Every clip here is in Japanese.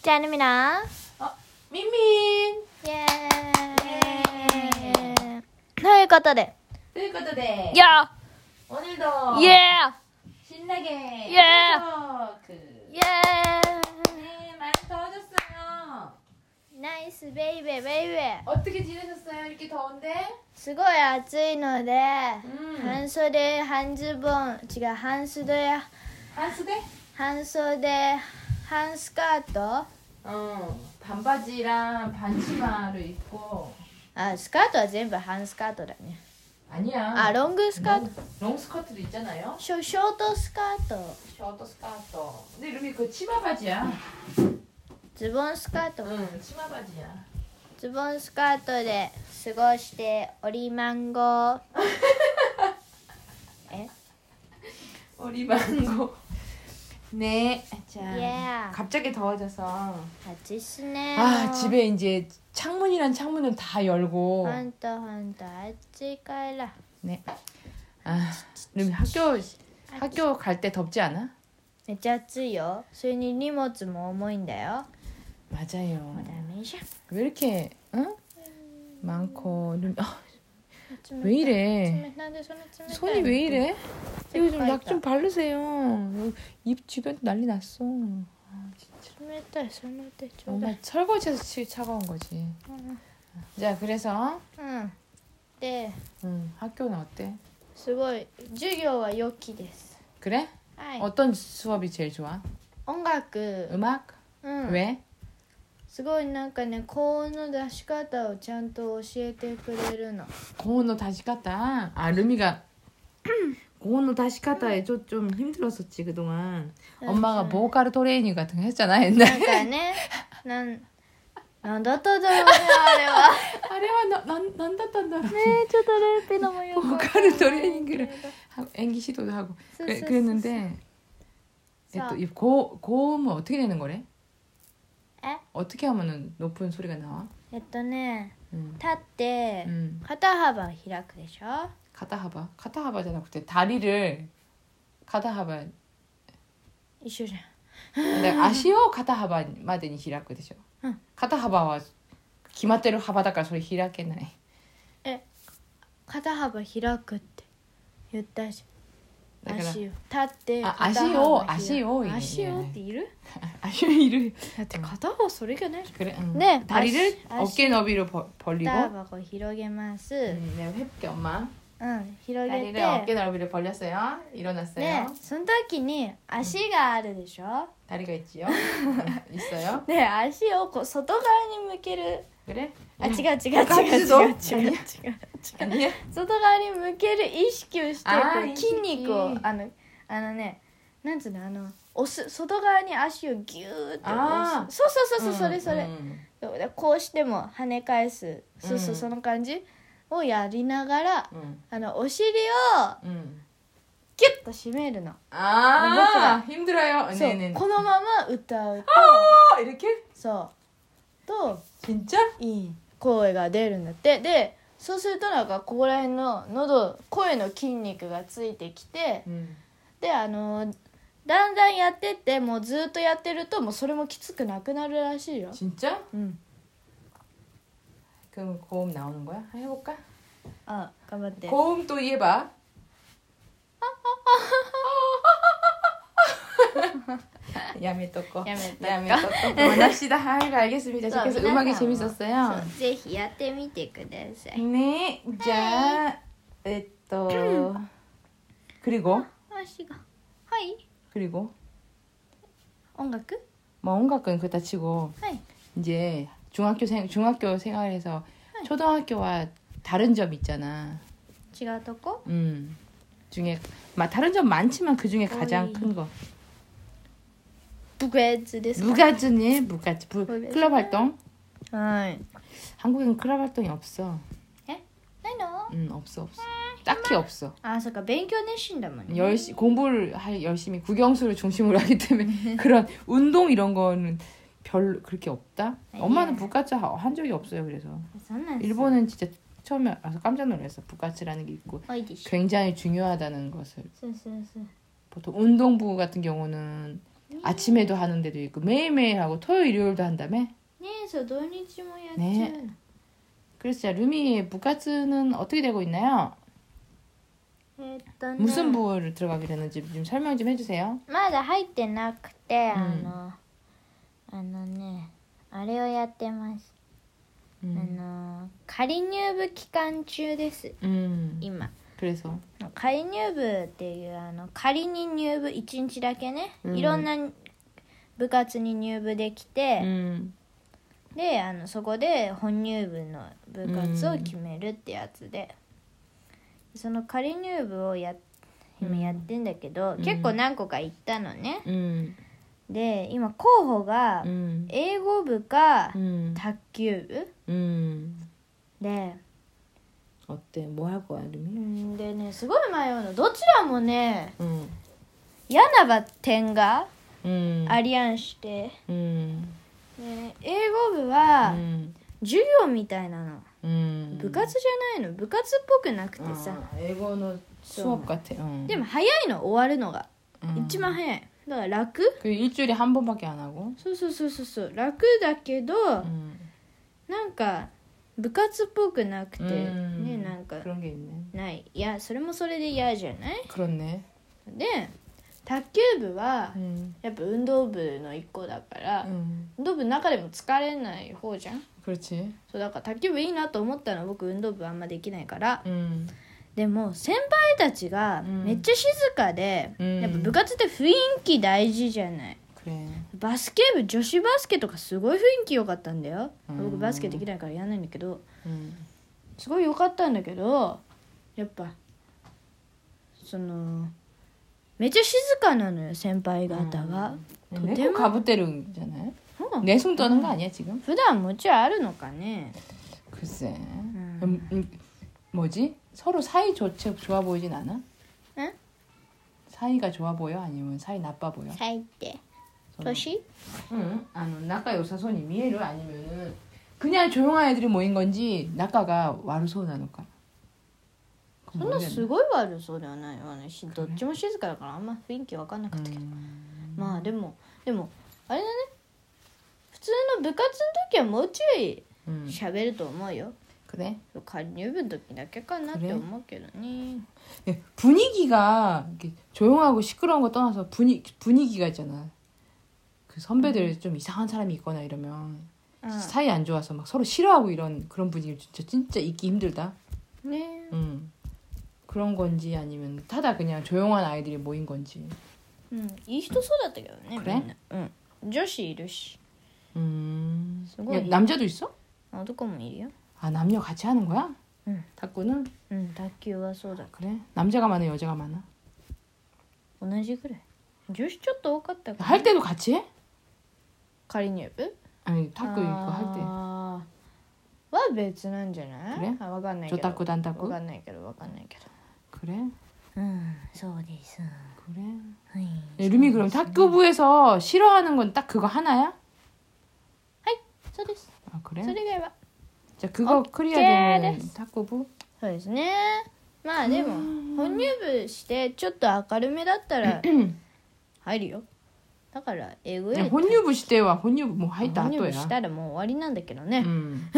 짠입니다. 민민. 예.ということで。 ということで、 야! 오늘도 예! 신나게 예! 토크. 예! 네, 많이 더워졌어요. 나이스 베이베 베이베. 어떻게 지내셨어요? 이렇게 더운데? すごい暑いので、 半袖、半ズボン、違う、半袖、 한수대? 半袖、半スカート 반바지랑 반치마를 입고. あ、スカートは全部半スカートだね。 아니야. あ、ロングスカート。 롱스커트도 있잖아요. ショートスカート。 셔터 스커트. 근데 루미 그 치마 바지야. ズボンスカート。 응, 치마 바지야. ズボンスカートで過ごしておりマンゴー。え 어리방고. 네. 자, Yeah. 갑자기 더워져서. 暑いっすね。 아, 집에 이제 창문이란 창문은 다 열고. ほんとほんと暑いから。 네. 아, 루미 학교 갈 때 덥지 않아? めっちゃ暑いよ。それに荷物も重いんだよ。 맞아요. もうダメじゃん。 왜 이렇게 응? 많고 루미 왜 冷 이래? なんでそんな冷たい 손이 왜 이래? 이거 좀 약 좀 바르세요. 입 주변 난리 났어. 아, 진짜. 冷たいその手ちょうだ 엄마 い。 설거지해서 차가운 거지. 자, 그래서 うん。で、 학교는 어때? すごい授業は良きです。 그래? はい。 어떤 수업이 제일 좋아? 音楽。 음악? うん。 왜? すごいなんかね、高音の出し方をちゃんと教えてくれるの。 고온노 다시 갔다. 아, 루미가 고온노 다시 갔다에 좀 힘들었었지 그동안. 엄마가 보컬 트레이닝 같은 거 했잖아 なん 옛날에. かね、なんだったんだろうね、あれは。 아래와 난다단다. ねえ、ちょっとレーピのもよくわかんない 보컬 트레이닝을 하고 en기 시도도 하고 그랬는데 또 이 고음은 어떻게 내는 거래? え 어떻게 하면은 높은 소리가 나와? ね、 음. 立って、 肩幅開くでしょ 카타하바잖아. 그때 다리를 카타하바 一緒じゃん。 근데 아시오 카타하바 마데니 히라크 되죠. 응. 카타하바와 기마테루 하바다까 소리 히라케나이. 肩幅開くって言ったじゃん。 だから足を立ってあ肩幅開く足を足をっている 아시오 이를 だって片方それがないじ 그래. ゃん。ね 다리를 足 어깨 너비로 벌리고. 肩幅を広げます。 내가 해볼게 엄마. 広げ 다리를 て。 어깨 너비로 벌렸어요. 일어났어요. ね、その時に足があるでしょ。 다리가 있지요. 있어요. ね、足をこう外側に向ける。 그래? あ、違う違う違う違う違う違う 아니야? 外側に向ける意識をして、 あーこう筋肉を意識あのね、なんつうの、押す、外側に足をギューって押す。そうそれそれ。でこうしても跳ね返す、そうその感じをやりながら、お尻をギュッと締めるの。 아, 힘들어요. そう、 네네. このまま歌うと、 아, 이렇게? そうと 진짜? いい声が出るんだって。で、そうするとなんかここら辺の喉、声の筋肉がついてきて、でだんだんやってってもうずっとやってるともうそれもきつくなくなるらしいよ。 진짜? うん。 그럼 고음 나오는 거야? 해볼까? あ、頑張って。 고음 또 해봐. 야메토코. 야메토코. 만납시다. 알겠습니다. 그래서 음악이 재밌었어요. そうぜひやってみてください。 네. 자, 그리고 足がはい。 그리고 音楽 뭐音楽은 그렇다 치고 はい。 이제 중학교 생활에서 초등학교와 다른 점 있잖아. 違うとこ 중에 다른 점 많지만 그 중에 가장 어이. 큰 거. 部活ですか 무가즈니 클럽 활동. はい。 한국엔 클럽 활동이 없어. ないの 없어. 딱히 없어. あ、そっか、勉強熱心だもんね。 공부를 열심히 국영수를 중심으로 하기 때문에 그런 운동 이런 거는 별 그렇게 없다. 엄마는 부가츠 한 적이 없어요. 그래서 そうなんです。 일본은 진짜 처음에 와서 깜짝 놀랐어. 부가츠라는 게 있고 多いでしょ。 굉장히 중요하다는 것을. そうそうそう。 보통 운동부 같은 경우는 아침에도 하는 데도 있고 매일매일 하고 토요일 일요일도 한다며? ねえそう土日もやっちゃうの、 ね 그래서 자, 루미의 부가츠는 어떻게 되고 있나요? ね 무슨 부를 들어가게 되는지 좀 설명 좀 해주세요. まだ入ってなくて、 うんねあれをやってます、 仮入部期間中です、今 그래서 仮入部っていう仮に入部1日だけね、いろんな部活に入部できて、でそこで本入部の部活を決めるってやつで、その仮入部を今やってんだけど、結構何個か行ったのね、で今候補が英語部か卓球部、で 어때? 뭐 할 거야, 루미? でねすごい迷うの。どちらもね、嫌なバッテンがありやんして、で英語部は授業みたいなの、部活じゃないの、部活っぽくなくてさ、 英語の수업 같아. でも早いの終わるのが、一番早いだから楽。 그 일주일에 한 번밖에 안 하고. そう楽だけど、なんか部活っぽくなくて、ね、なんか 그런 게 있네. ない。いやそれもそれで嫌じゃない？ 그렇네. で卓球部はやっぱ運動部の一個だから、運動部の中でも疲れない方じゃん。 그렇지. そうだから卓球部いいなと思ったの。僕運動部あんまできないから、でも先輩たちがめっちゃ静かで、やっぱ部活って雰囲気大事じゃない。 그래. バスケ部、女子バスケとかすごい雰囲気良かったんだよ。僕バスケできないからやらないんだけど、すごい良かったんだけど、やっぱそのめっちゃ静かなのよ先輩方が。 내가 가부대lun잖아요. 내숭 떠는 거 아니야 지금? 普段もちろんあるのかね。 글쎄. 뭐지? 서로 사이 좋아 보이진 않아? 응? 사이가 좋아 보여? 아니면 사이 나빠 보여? サイって年？ 응. 낙가 요사손이 미에를 아니면은 그냥 조용한 애들이 모인 건지 낙가가 와르소 나노까? そんなすごい悪そうではないわね。どっちも静かだからあんま雰囲気分かんなかったけど、まあでもあれだね、普通の部活の時はもうちょい喋ると思うよ。 그래? 仮入部の時だけかなって思うけどね。 분위기가 조용하고 시끄러운 거 떠나서 분위기가 있잖아. 그 선배들 좀 이상한 사람이 있거나 이러면 사이 안 좋아서 막 서로 싫어하고 이런 그런 분위기 진짜 있기 힘들다. 네. 그런 건지 아니면 타다 그냥 조용한 아이들이 모인 건지. いい人そうだったけどね。 그래? みんな。女子いるし。すごい。 남자도 있어? 男もいるよ。 아 남녀 같이 하는 거야? 탁구는? 卓球はそうだ。 그래? 남자가 많아 여자가 많아? 同じぐらい。女子ちょっと多かったかな。 할 때도 같이 해? 仮入部？ 아니 탁구 이거 할 때. は別なんじゃない？ 그래? わかんないけど。 조탁구 단탁구? わかんないけど。 그래? そうです。 그래? はい。 루미 그럼 탁구부에서 싫어하는 건 딱 그거 하나야? そうです。 아 그래? それ以外は。 자 그거 오케이 클리어 되면 됐어. 탁구부? そうですね。まあでも本入部してちょっと明るめだったら入るよ。だから英語より 혼유부 시대와 혼유부 뭐 하이다 本入部 또야. したらもう終わりなんだけどね。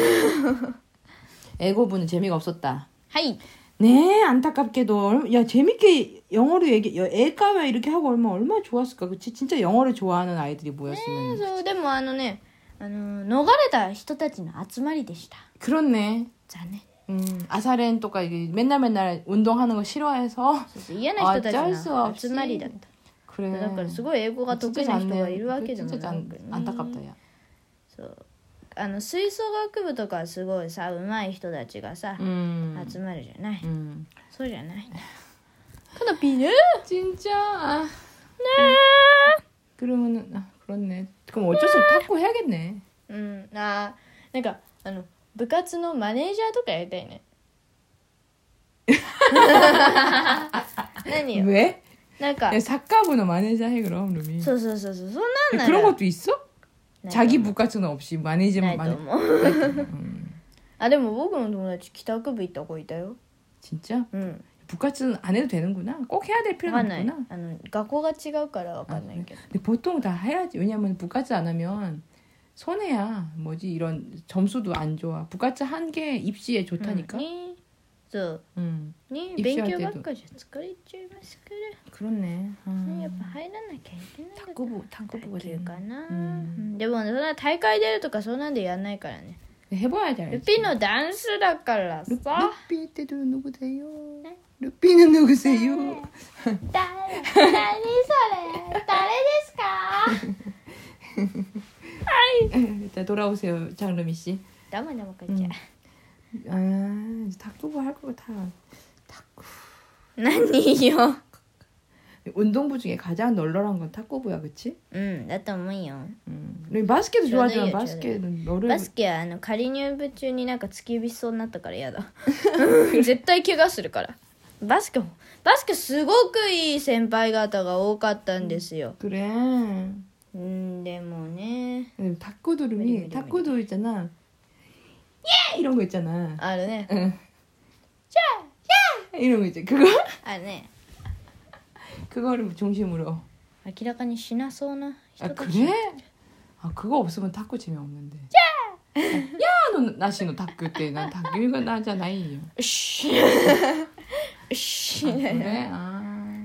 애고부는 재미가 없었다. はい。 네 안타깝게도 야 재밌게 영어로 애까면 이렇게 하고 얼마나 좋았을까. 그치? 진짜 영어를 좋아하는 아이들이 모였으면. そうでも逃れた人たちの集まりでした。 그렇네. 残念。 아사렌 또가 이게 맨날 운동하는 거 싫어해서 そうそう嫌な人たち 어쩔 수 の 없이. 集まりだった。 그래. だからすごい英語が得意な人がいるわけでもなく、 진짜 ね、 안타깝다 야. そう吹奏楽部とかすごいさ上手い人たちがさ、集まるじゃない、そうじゃないカナピーね 진짜. 그러면은 그렇네. 그럼 어쩔 수 없이 탁구 해야겠네. なんか部活のマネージャーとかやりたいね何よ 왜? なんか 야, 사과부는 마네이저 해 그럼 루미. そうそんなんなら 그런 것도 있어? ないと思う 자기 부가츠는 없이 な 마네이저만 いと思うでも僕の友達帰宅部行った子いたよ 진짜? 부가츠는 안 해도 되는구나. 꼭 해야 될 필요는 わかんない 없구나. 学校が違うからわかんないけど 근데 보통 다 해야지. 왜냐면 부가츠 안 하면 손해야. 뭐지 이런 점수도 안 좋아. 부가츠 한 게 입시에 좋다니까. ねそう 응. ね一緒やけど勉強ばっかじゃ疲れちゃいますか 그렇네. ら、ねやっぱ入らなきゃいけないから 탁구부가 卓球かな、 うんでもそんな大会出るとかそんなんでやんないからね 해봐야지 알지. ルピのダンスだからさ 루피 때도 누구세요? 루피는 누구세요? 何それ誰ですか 일단 돌아오세요, 장르미 씨. ダメダメかっちゃ 아, 이제 탁구부 할 거 같아. 탁구. 何よ 운동부 중에 가장 널널한 건 탁구부야, 그치? うんだと思うよ 바스켓도 좋아하지만 저도요, 바스켓은 너를 バスケは仮入部中になんか突き指しそうになったから嫌だ絶対怪我するからバスケすごくいい先輩方が多かったんですよ 그래. でもね 탁구도 탁구도 있잖아. 예! 이런 거 있잖아. あるね 응. 이런 거 있지. 그거 あるね 그거를 중심으로. 明らかにしなそうな人 아 たち 그래? 아 그거 없으면 탁구 재미없는데. 야! 야너 나시노 탁구 때 난 탁구 이거 나잖아요. よしよし 아, 그래? 아.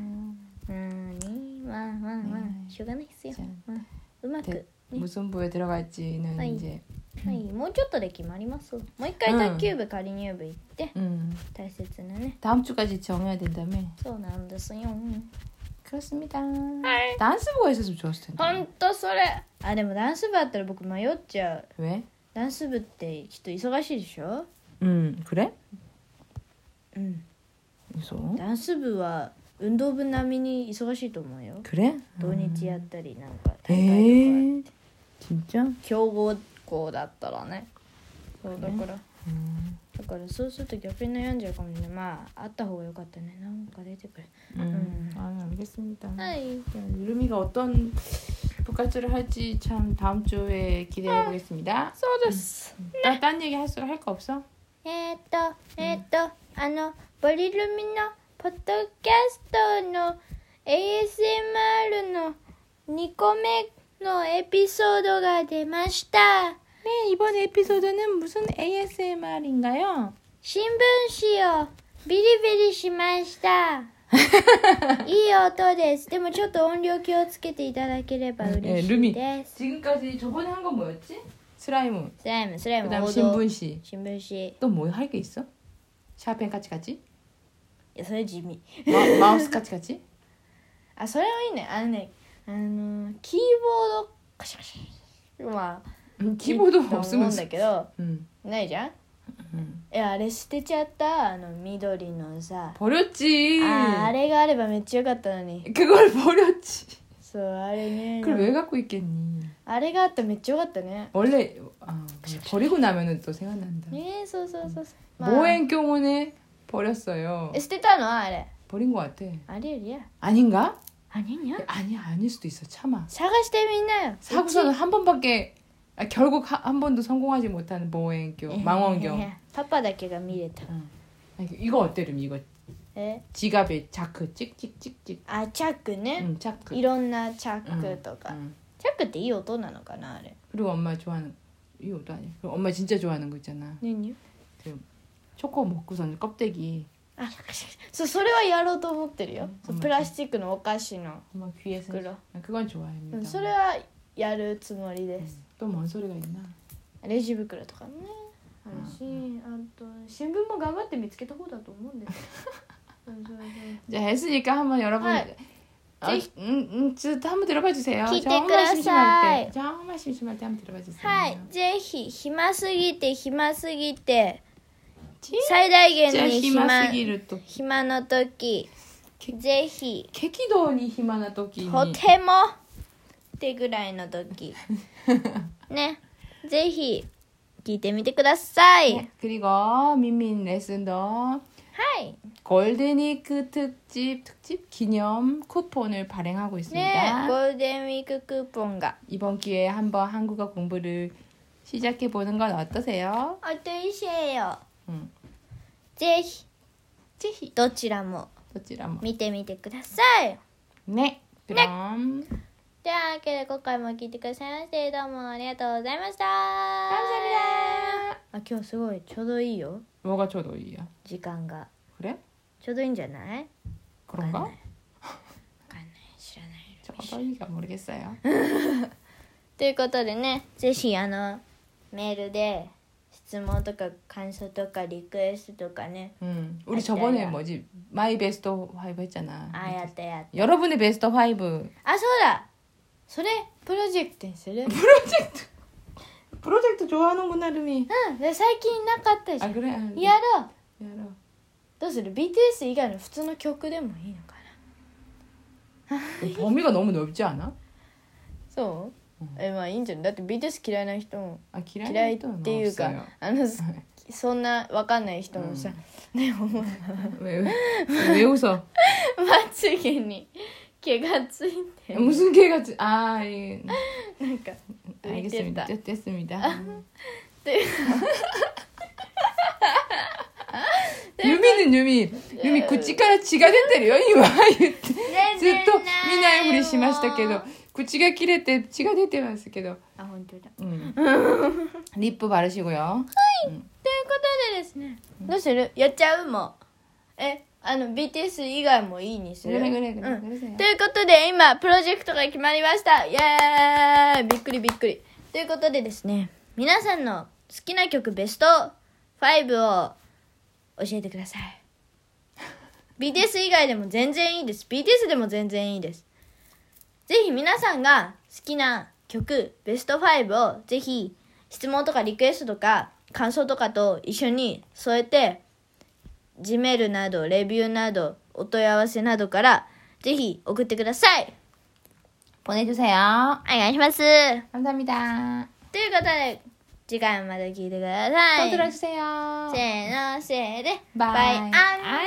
まあしょうがないっすよ、うまく、ね 무슨 부에 들어갈지는 아이. 이제 はい、もうちょっとで決まりますもう一回卓球部仮入部行って、 大切なね 다음 주까지 정해야 된다며. そうなんですよ 그렇습니다. 단스부가 있었으면 좋았을 텐데. ほんとそれあでもダンス部あったら僕迷っちゃう 왜? ダンス部ってきっと忙しいでしょ 그래? うん 무서워? ダンス部は運動部並みに忙しいと思うよ 그래? 土日やったりなんか大会とか 진짜? 強豪校だったらねそうだから、だからそうすると逆に悩んじゃうかもしれないまああった方がよかったねなんか出てくる 아, 알겠습니다. はい 유름이가 어떤 부가츠를 할지 참 다음 주에 기대해 보겠습니다. そうです、 딴 얘기 할 거 없어? ボリルミのポッドキャストの ASMR の2個目のエピソードが出ました 네, 이번 에피소드는 무슨 ASMR인가요? 新聞紙をビリビリしましたいい音ですでもちょっと音量気をつけていただければ嬉しいです 지금까지 저번에 한 건 뭐였지? 슬라임. スライム 그다음 王道 신분시. 新聞紙 또 뭐 할 게 있어? 샤펜 까치까치? いやそれ地味 마우스 까치까치? あそれはいいねキーボードカシャカシャまあ 키보드 いいと思うん 없으면 だけど 응. ないじゃん 응. いやあれ捨てちゃった緑のさ 버렸지. あれがあればめっちゃよかったのに 그걸 버렸지. そうあれね 그걸 왜 갖고 있겠니? あれがあったらめっちゃよかったね 원래 버리고 나면은 또 생각난다. そうそうそうそう、 모행경원에 버렸어요. 捨てたのあれ 버린 것 같아. ありえるや 아닌가? あにゃ 아니야, 아닐 수도 있어. 참아. 探してみんなよ 사고서는 한 번밖에 결국 한 번도 성공하지 못하는 모행경, 망원경. パパだけが見れた 이거 어때, 룸 이거 え 지갑에 자크 찍찍찍찍. あチャックね、 자크. いろんなチャックとか、 응. チャックっていい音なのかなあれ 그리고 엄마 좋아하는 이것도 아니야. 그리고 엄마 진짜 좋아하는 거 있잖아. 何よ 그 초코 먹고선 껍데기 あそれはやろうと思ってるよ、そううんプラスチックのお菓子の 엄마 귀에서 그래. 그건 좋아합니다. それはやるつもりです、 또 뭔 소리가 있나? レジ袋とかねあるし、あと新聞も頑張って見つけた方だと思うんですよそうそうそう 이제 했으니까 한번 여러분 네. 한번 들어봐 주세요. 기대 정말 그라사이. 심심할 때, 정말 심심할 때 한번 들어봐 주세요. はいぜひ暇すぎて最大限 진짜 に暇すぎると暇の時ぜひ 캐키도니 희망나 토끼니 とてもってぐらいの時ねぜひ聞いてみてください、 네, 그리고 민민 레슨도 はい 골든위크 특집 기념 쿠폰을 발행하고 ね 있습니다. ゴールデンウィーククーポンが 이번 기회에 한번 한국어 공부를 시작해 보는 건 어떠세요? おいしいよ 응. ぜひぜひどちらも見てみてくださいね。ピローン。 ではわけで今回も聞いてくださいましてどうもありがとうございました。あ、今日すごいちょうどいいよ。 뭐가ちょうどいいや? 時間が 그래? ちょうどいいんじゃない？ 그런가? わかんない知らない。 저도이가 모르겠어요. ということでね、ぜひメールで質問とか感想とかリクエストとかね。 우리 저번에 뭐지? 마이 베스트 5 했잖아. あ、やった。 여러분의 베스트 5. あ、そうだ。それプロジェクトにする。 프로젝트 좋아하는구나, 루미. で最近なかったじゃん。 아, 그래? やろう。 야로. どうする？ BTS 以外の普通の曲でもいいのかな。 범위가 너무 넓지 않아? そう？まあいいんじゃない。だって BTS 嫌いな人も 아, 嫌いっていうかそんな分かんない人もさ、ね、 왜 웃어? まつげに毛がついて 무슨 개가 아, 예. なんか浮いてた。 알겠습니다. 됐습니다. 유미는 유미口から血が出てるよ今言ってずっと見ないふりしましたけど口が切れて血が出てますけど。 あ、本当だ。 リップバルしごよ。はい。 ということでですね、どうする？やっちゃう？もうBTS 以外もいいにする？ ぐれ。 ということで今プロジェクトが決まりました。イエーイ！びっくり。ということでですね、皆さんの好きな曲ベスト5を教えてください。BTS 以外でも全然いいです。BTS でも全然いいです。ぜひ皆さんが好きな曲ベスト5をぜひ質問とかリクエストとか感想とかと一緒に添えて Gmail などレビューなどお問い合わせなどからぜひ送ってください。 보내주세요. お願いします。 감사합니다. ということで次回もまた聞いてください。 또 들어주세요. せーのせーでバイバイアン。